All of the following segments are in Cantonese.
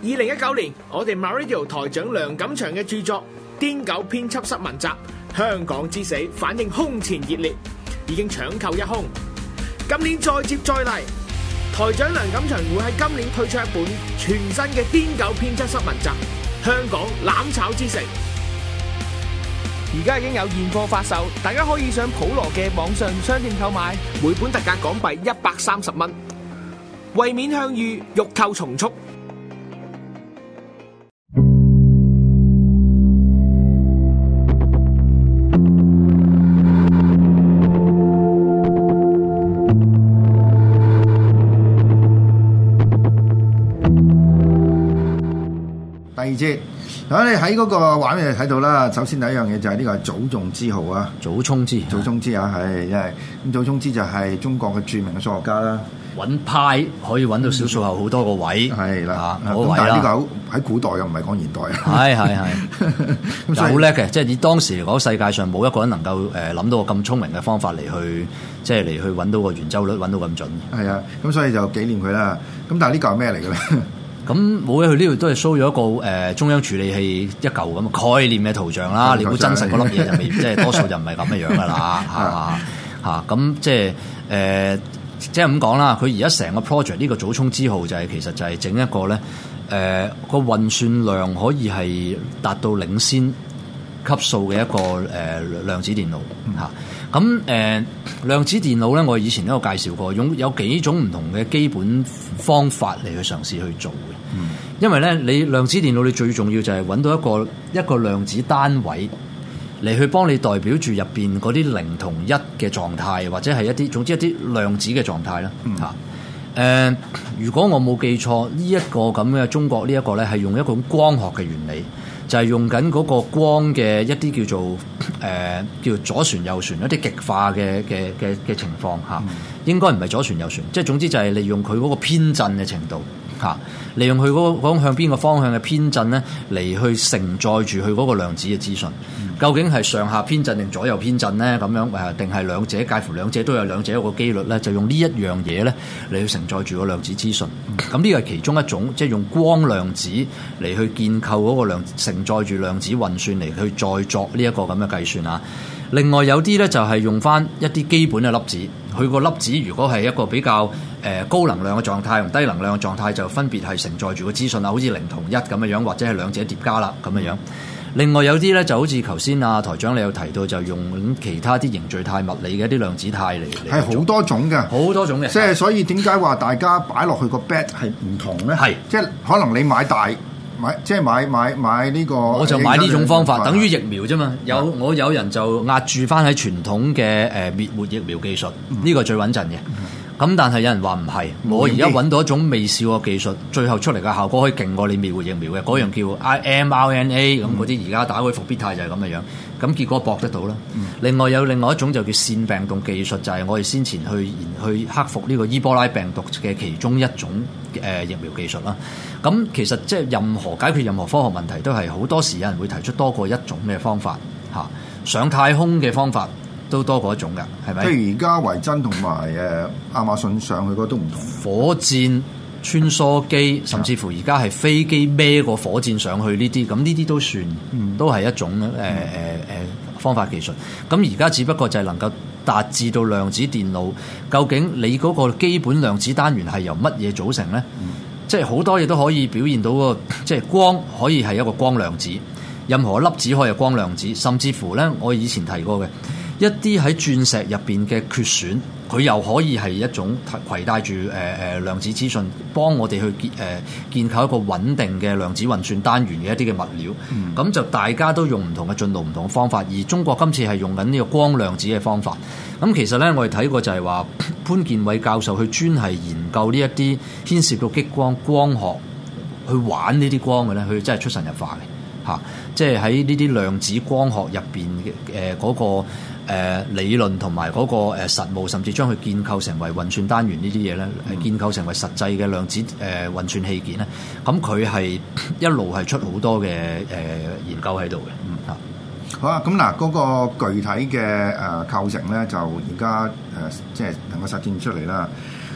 2019年，我哋 MyRadio 台長梁錦祥嘅著作《癲狗編輯室文集：香港之死》反應空前熱烈，已經搶購一空。今年再接再厲，台長梁錦祥會喺今年推出一本全新嘅《癲狗編輯室文集：香港攬炒之城》。而家已經有現貨發售，大家可以上普羅嘅網上商店購買，每本特價港幣130蚊。為免向隅，欲購從速。 第二節，咁你喺嗰個畫面睇到啦。首先第一樣嘢就係呢個係祖宗之號啊， 祖沖之啊，係因為咁祖沖之就係中國嘅著名嘅數學家啦。 揾派可以揾到小數後好多個位， 係啦， 咁但係呢個喺古代又唔係講現代啊。係，好叻嘅，即係以當時嚟講，世界上冇一個人能夠諗到個咁聰明嘅方法嚟去，即係嚟去揾到個圓周率揾到咁準。係啊，咁所以就紀念佢啦。咁但係呢個係咩嚟嘅咧？ 咁冇嘅，佢呢度都係 show 咗一個中央處理器一嚿咁嘅概念嘅圖像啦。你估真實嗰粒嘢就未，即係多數就唔係咁嘅樣噶啦。咁即係即係咁講啦。佢而家成個 project 呢個祖沖之號就係其實就係整一個咧個運算量可以係達到領先級數嘅一個量子電腦嚇。咁量子電腦咧，我以前都有介紹過，有幾種唔同嘅基本方法嚟去嘗試去做嘅。因為咧，你量子電腦你最重要就係揾到一個量子單位嚟去幫你代表住入邊嗰啲零同一嘅狀態，或者係總之一啲量子嘅狀態啦嚇。如果我冇記錯，呢一個咁嘅中國呢一個咧係用一個光學嘅原理。就係用緊嗰個光嘅一啲叫做左旋右旋一啲極化嘅情況嚇，應該唔係左旋右旋，即係總之就係利用佢嗰個偏振嘅程度嚇，利用佢嗰個向邊個方向嘅偏振咧嚟去承載住佢嗰個量子嘅資訊。究竟係上下偏振定左右偏振咧？咁樣定係兩者介乎兩者都有兩者一個機率咧？就用呢一樣嘢咧嚟去承載住個量子資訊。咁呢個係其中一種，即係用光量子嚟去建構嗰個承載住量子運算嚟去再作呢一個咁嘅計算啊。另外有啲咧就係用翻一啲基本嘅粒子，佢個粒子如果係一個比較高能量嘅狀態同低能量嘅狀態，就分別係承載住個資訊啊，好似0同1咁樣樣，或者係兩者疊加啦咁樣樣。另外有啲咧就好似頭先啊台長你有提到，就用其他啲凝聚態物理嘅一啲量子態嚟係好多種嘅， 好多種嘅。 即係所以點解話大家擺落去個 bet 係唔同咧？係即係可能你買大即係買呢個， 我就買呢種方法，等於疫苗啫嘛。我有人就壓住翻喺傳統嘅滅活疫苗技術，呢個最穩陣嘅。咁但係有人話唔係，我而家揾到一種未試過技術，最後出嚟嘅效果可以勁過你滅活疫苗嘅，嗰樣叫 mRNA 咁嗰啲，而家打開復必泰就係咁嘅樣，咁結果搏得到啦。另外有另外一種就叫腺病毒技術，就係我哋先前去克服呢個伊波拉病毒嘅其中一種疫苗技術啦。咁其實即係解決任何科學問題都係好多時有人會提出多過一種嘅方法嚇，上太空嘅方法都多過一種㗎，係咪？ 譬如而家維珍同埋亞馬遜上去嗰都唔同， 火箭穿梭機，甚至乎而家係飛機孭個火箭上去呢啲，咁呢啲都算，都係一種方法技術。咁而家只不過就係能夠達至到量子電腦，究竟你嗰個基本量子單元係由乜嘢組成咧？即係好多嘢都可以表現到個，即係光可以係一個光量子，任何粒子可以係光量子，甚至乎咧，我以前提過嘅。一啲喺鑽石入邊嘅缺損，佢又可以係一種攜帶住量子資訊，幫我哋去建構一個穩定嘅量子運算單元嘅一啲嘅物料。咁就大家都用唔同嘅進度、唔同嘅方法，而中國今次係用緊呢個光量子嘅方法。咁其實咧，我哋睇過就係話潘建偉教授佢專係研究呢一啲牽涉到激光、光學去玩呢啲光嘅咧，佢真係出神入化嘅嚇。即係喺呢啲量子光學入邊嘅嗰個理論同埋嗰個實務，甚至將佢建構成為運算單元呢啲嘢咧，建構成為實際嘅量子運算器件咧。咁佢係一路係出好多嘅研究喺度嘅。 好啊，咁嗱嗰個具體嘅構成咧，就而家即係能夠實踐出嚟啦。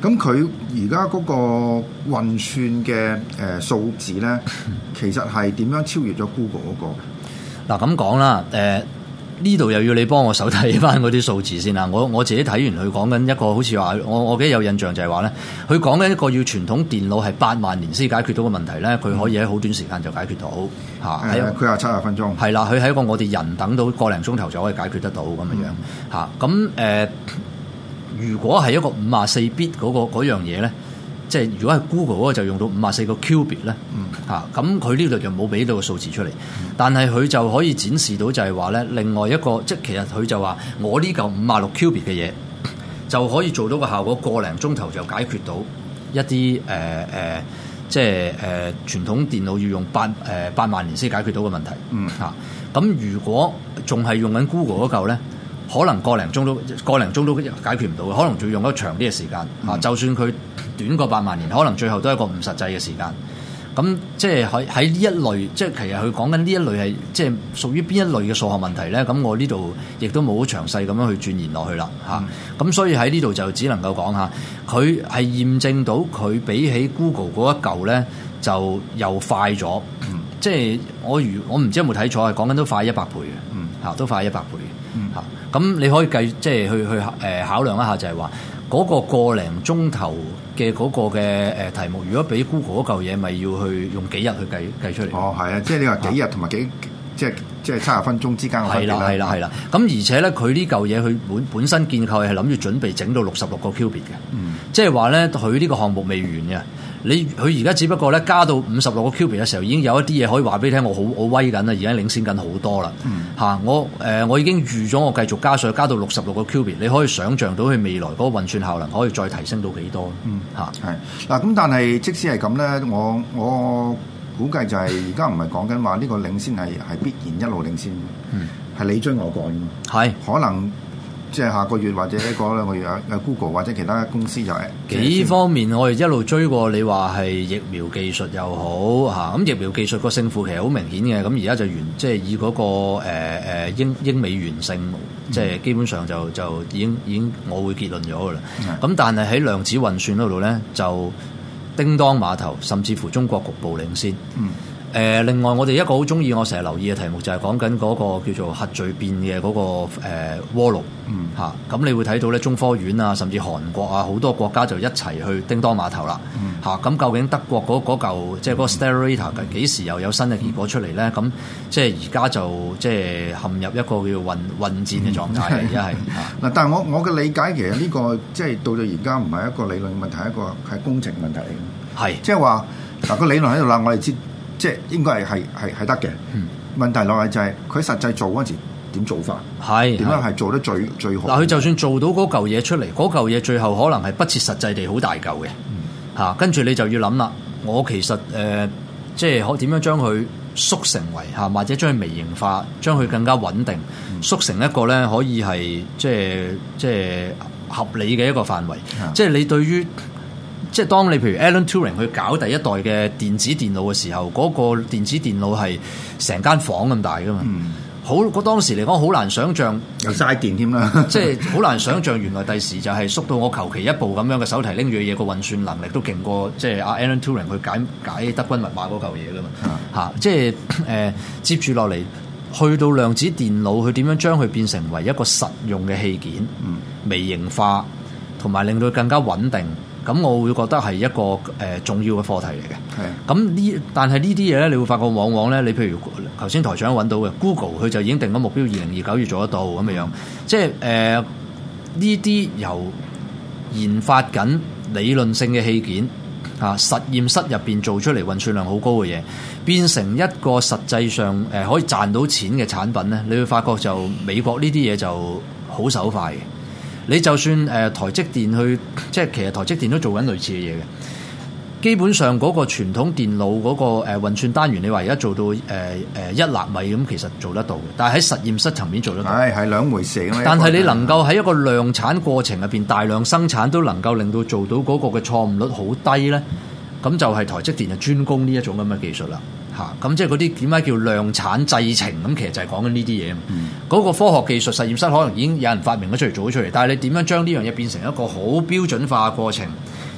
咁佢而家嗰個運算嘅數字咧，其實係點樣超越咗 Google 嗰個？ 嗱咁講啦，呢度又要你幫我手睇翻嗰啲數字先啦。我自己睇完佢講緊一個好似話，我記得有印象就係話咧，佢講緊一個要傳統電腦係8萬年先解決到嘅問題咧，佢可以喺好短時間就解決到嚇。 佢話70分鐘。係啦，佢係一個我哋人等到個零鐘頭就可以解決得到咁樣樣嚇。咁如果係一個54 bit 嗰樣嘢咧，即係如果係 Google 嗰個就用到54個 qubit 咧嚇，咁佢呢度就冇俾到個數字出嚟，但係佢就可以展示到就係話咧，另外一個即係其實佢就話我呢嚿56 qubit 嘅嘢就可以做到個效果，個零鐘頭就解決到一啲即係傳統電腦要用8萬年先解決到嘅問題嚇。咁如果仲係用緊 Google 嗰嚿咧，可能個零鐘都解決唔到，可能仲要用得長啲嘅時間嚇。就算佢短過8萬年，可能最後都係一個唔實際嘅時間。咁即係喺呢一類，即係其實佢講緊呢一類係即係屬於邊一類嘅數學問題咧？咁我呢度亦都冇好詳細咁樣去鑽研落去啦嚇。咁所以喺呢度就只能夠講下，佢係驗證到佢比起 Google 嗰一嚿咧就又快咗。即係我唔知有冇睇錯，係講緊都快100倍嘅。嚇都快100倍嘅。嚇咁你可以計即係去考量一下，就係話嗰個零鐘頭嘅嗰個嘅題目，如果俾 Google 嗰嚿嘢，咪要去用幾日去計出嚟？哦，係啊，即係你話幾日同埋即係70分鐘之間嘅分別啦。係啦。咁而且咧，佢呢嚿嘢佢本身建構係諗住準備整到66個 qubit 嘅。即係話咧，佢呢個項目未完嘅。佢而家只不過咧加到56個 qubit 嘅時候，已經有一啲嘢可以話俾你聽，我好威緊啦，而家領先緊好多啦。我已經預咗我繼續加上加到66個 qubit，你可以想像到佢未來嗰個運算效能可以再提升到幾多？ 嗱，咁但係即使係咁咧，我估計就係而家唔係講緊話呢個領先係必然一路領先，係你追我趕嘅，可能。即係下個月或者一個兩個月有 Google 或者其他公司就係幾方面，我哋一路追過。你話係疫苗技術又好嚇，咁疫苗技術個勝負其實好明顯嘅。咁而家就即係以嗰個英美完勝，即係基本上就已經我會結論咗㗎啦。咁但係喺量子運算嗰度咧，就叮當碼頭，甚至乎中國局部領先。另外我哋一個好中意，我成日留意嘅題目就係講緊嗰個叫做核聚變嘅嗰個鍋爐嚇。咁你會睇到咧，中科院啊，甚至韓國啊，好多國家就一齊去叮當碼頭啦嚇。咁究竟德國嗰嚿即係嗰個 Stellarator 幾時又有新嘅結果出嚟咧？咁即係而家就即係陷入一個叫混戰嘅狀態，而家係嗱。但係我嘅理解其實呢個即係到而家唔係一個理論問題，一個係工程問題嚟嘅。係即係話嗱，個理論喺度啦，我哋知。即係應該係得嘅。問題落嚟就係佢實際做嗰陣時點做法，點樣係做得最好。 嗱，佢就算做到嗰嚿嘢出嚟，嗰嚿嘢最後可能係不切實際地好大嚿嘅嚇。跟住你就要諗啦，我其實即係可點樣將佢縮成為嚇，或者將佢微型化，將佢更加穩定，縮成一個咧可以係即係合理嘅一個範圍。即係你對於即係當你譬如 Alan Turing 去搞第一代嘅電子電腦嘅時候，嗰個電子電腦係成間房咁大噶嘛。嗰當時嚟講好難想像， 又嘥電添啦。 即係好難想像原來第時就係縮到我求其一部咁樣嘅手提拎住嘅嘢，個運算能力都勁過即係阿 Alan Turing 去解德軍密碼嗰嚿嘢噶嘛。即係接住落嚟去到量子電腦，佢點樣將佢變成為一個實用嘅器件，微型化同埋令到佢更加穩定。咁我會覺得係一個重要嘅課題嚟嘅。咁但係呢啲嘢咧，你會發覺往往咧，你譬如頭先台長揾到嘅 Google，佢就已經定咗目標2029月做得到咁樣。即係呢啲由研發緊理論性嘅器件實驗室入邊做出嚟運算量好高嘅嘢，變成一個實際上可以賺到錢嘅產品咧，你會發覺就美國呢啲嘢就好手快嘅。你就算台積電去，即係其實台積電都做緊類似嘅嘢嘅。基本上嗰個傳統電腦嗰個運算單元，你話而家做到1納米咁，其實做得到嘅。但係喺實驗室層面做得到，係兩回事。但係你能夠喺一個量產過程入邊大量生產，都能夠令到做到嗰個嘅錯誤率好低咧，咁就係台積電就專攻呢一種咁嘅技術啦。咁即係嗰啲點解叫量產製程？咁其實就係講緊呢啲嘢。嗰個科學技術實驗室可能已經有人發明咗出嚟做咗出嚟，但係你點樣將呢樣嘢變成一個好標準化嘅過程，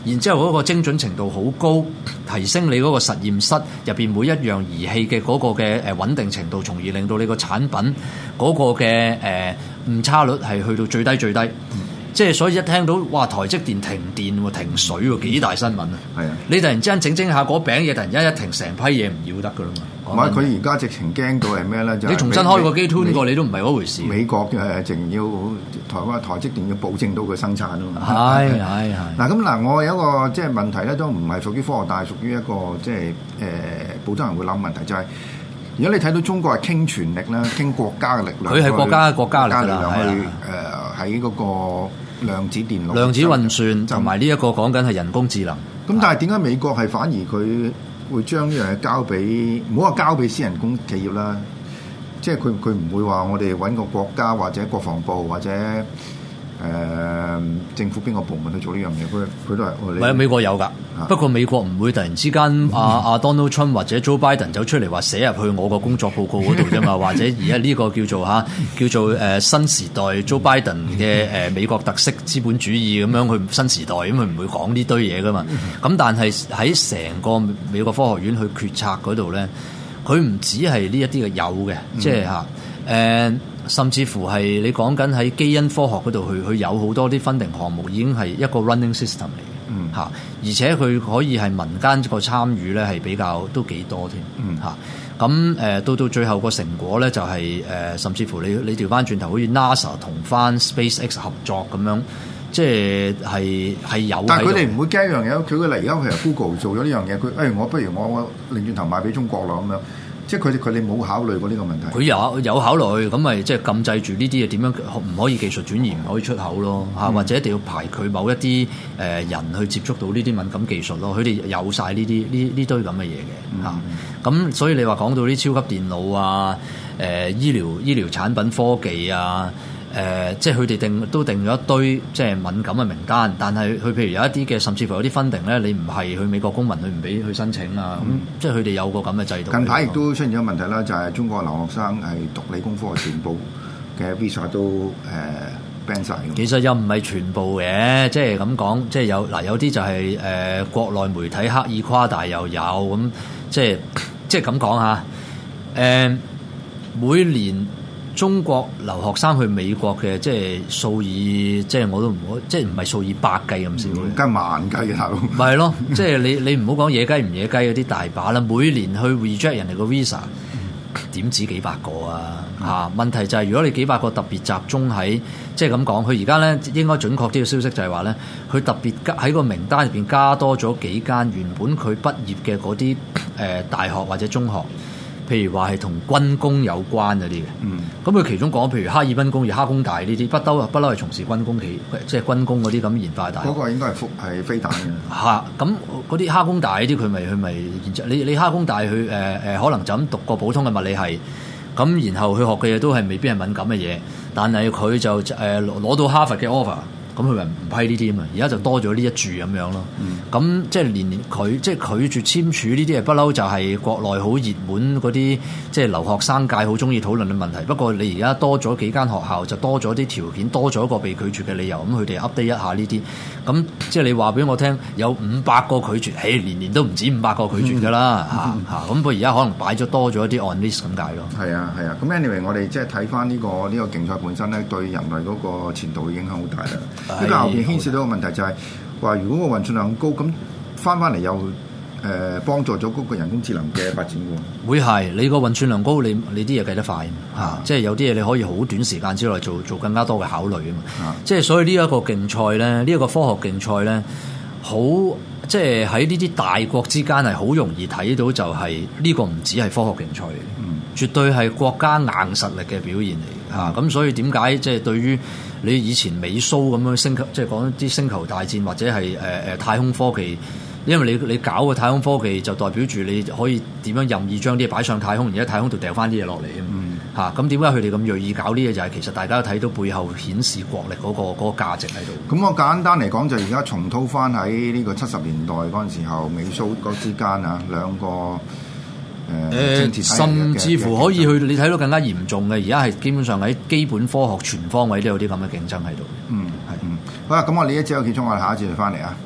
然之後嗰個精準程度好高，提升你嗰個實驗室入邊每一樣儀器嘅嗰個嘅穩定程度，從而令到你個產品嗰個嘅誤差率係去到最低最低。即係所以一聽到哇台積電停電喎停水喎幾大新聞啊！係啊！你突然之間整下嗰餅嘢，突然間一停，成批嘢唔要得噶啦嘛！ 唔係佢而家直情驚到係咩咧？就係、 你重新開個機 tune 過，你都唔係嗰回事。 美國嘅淨要台積電要保證到佢生產啊嘛！ 係。 嗱咁嗱，我有一個即係問題咧，都唔係屬於科學，但係屬於一個即係普通人會諗問題，就係、是、如果你睇到中國係傾全力啦，傾國家嘅力量， 佢係國家嘅力量去喺嗰個量子電腦、 量子運算同埋呢一個講緊係人工智能。 咁但係點解美國係反而佢會將呢樣嘢交俾唔好話交俾私人公企業啦？即係佢唔會話我哋揾個國家或者國防部或者政府邊個部門去做呢樣嘢？佢都係唔係美國有㗎，不過美國唔會突然之間阿 Donald Trump 或者 Joe Biden 走出嚟話寫入去我個工作報告嗰度啫嘛，或者而家呢個叫做新時代 Joe Biden 嘅美國特色資本主義咁樣去新時代，咁佢唔會講呢堆嘢㗎嘛。咁但係喺成個美國科學院去決策嗰度咧，佢唔止係呢一啲嘅有嘅，即係甚至乎係你講緊喺基因科學嗰度去有好多啲 funding 項目已經係一個 running system 嚟嘅，而且佢可以係民間個參與咧係比較都幾多添，咁到最後個成果咧就係甚至乎你調翻轉頭好似 NASA 同翻 SpaceX 合作咁樣，即係有。但係佢哋唔會驚一樣嘢，佢而家譬如 Google 做咗呢樣嘢，佢我不如我擰轉頭賣俾中國啦咁樣。即係佢哋冇考慮過呢個問題。佢有考慮，咁咪即係禁制住呢啲嘢點樣唔可以技術轉移，唔可以出口咯嚇，或者一定要排佢某一啲人去接觸到呢啲敏感技術咯。佢哋有晒呢堆咁嘅嘢嘅嚇。咁所以你話講到啲超級電腦啊、醫療產品科技啊。即係佢哋都定咗一堆即係敏感嘅名單，但係佢譬如有一啲嘅，甚至乎有啲 funding 咧，你唔係去美國公民，佢唔俾去申請啊。咁即係佢哋有個咁嘅制度。近排亦都出現咗問題啦，就係中國留學生係讀理工科嘅全部嘅 visa 都ban 晒。其實又唔係全部嘅，即係咁講，即係有啲就係國內媒體刻意誇大又有咁，即係咁講嚇。每年中國留學生去美國嘅，即係數以，即係我都唔好，即係唔係數以百計咁少，梗係萬計嘅頭。咪係咯，即係你唔好講野雞唔野雞嗰啲大把啦。每年去 reject 人哋個 visa，點止幾百個啊？嚇！問題就係如果你幾百個特別集中喺，即係咁講，佢而家咧應該準確啲嘅消息就係話咧，佢特別喺個名單入邊加多咗幾間原本佢畢業嘅嗰啲大學或者中學。譬如話係同軍工有關嗰啲嘅，咁佢其中講，譬如哈爾濱工業、哈工大呢啲，不嬲係從事軍工即係軍工嗰啲咁研發大學。嗰個應該係飛彈嘅。嚇，咁嗰啲哈工大呢啲，佢咪研究你哈工大佢可能就咁讀個普通嘅物理系，咁然後佢學嘅嘢都係未必係敏感嘅嘢，但係佢就攞到哈佛嘅 offer。咁佢咪唔批呢啲啊嘛？而家就多咗呢一注咁樣咯。咁即係連佢即係拒絕簽署呢啲嘢，不嬲就係國內好熱門嗰啲，即係留學生界好中意討論嘅問題。不過你而家多咗幾間學校，就多咗啲條件，多咗一個被拒絕嘅理由。咁佢哋 update 一下呢啲。咁即係你話俾我聽，有500個拒絕，年年都唔止500個拒絕㗎啦嚇。咁佢而家可能擺咗多咗一啲 on list 咁解咯。係啊。咁 anyway， 我哋即係睇翻呢個競賽本身咧，對人類嗰個前途嘅影響好大啦。呢個後邊牽涉到個問題就係話，如果個運算量高，咁翻嚟又幫助咗嗰個人工智能嘅發展喎。會係你個運算量高，你啲嘢計得快嚇，即係有啲嘢你可以好短時間之內做更加多嘅考慮啊嘛。即係所以呢一個競賽咧，呢一個科學競賽咧，好即係喺呢啲大國之間係好容易睇到，就係呢個唔止係科學競賽嚟，絕對係國家硬實力嘅表現嚟嚇。咁所以點解即係對於你以前美蘇咁樣星球，即係講啲星球大戰或者係太空科技，因為你搞個太空科技就代表住你可以點樣任意將啲嘢擺上太空，而喺太空度掉翻啲嘢落嚟啊！咁點解佢哋咁鋭意搞呢嘢？就係其實大家都睇到背後顯示國力嗰個價值喺度。咁我簡單嚟講，就而家重蹈翻喺呢個70年代嗰陣時候，美蘇嗰之間啊兩個。甚至乎可以去你睇到更加嚴重嘅，而家係基本上喺基本科學全方位都有啲咁嘅競爭喺度。好啦，咁我呢一節有結束，我哋下一節就翻嚟啊。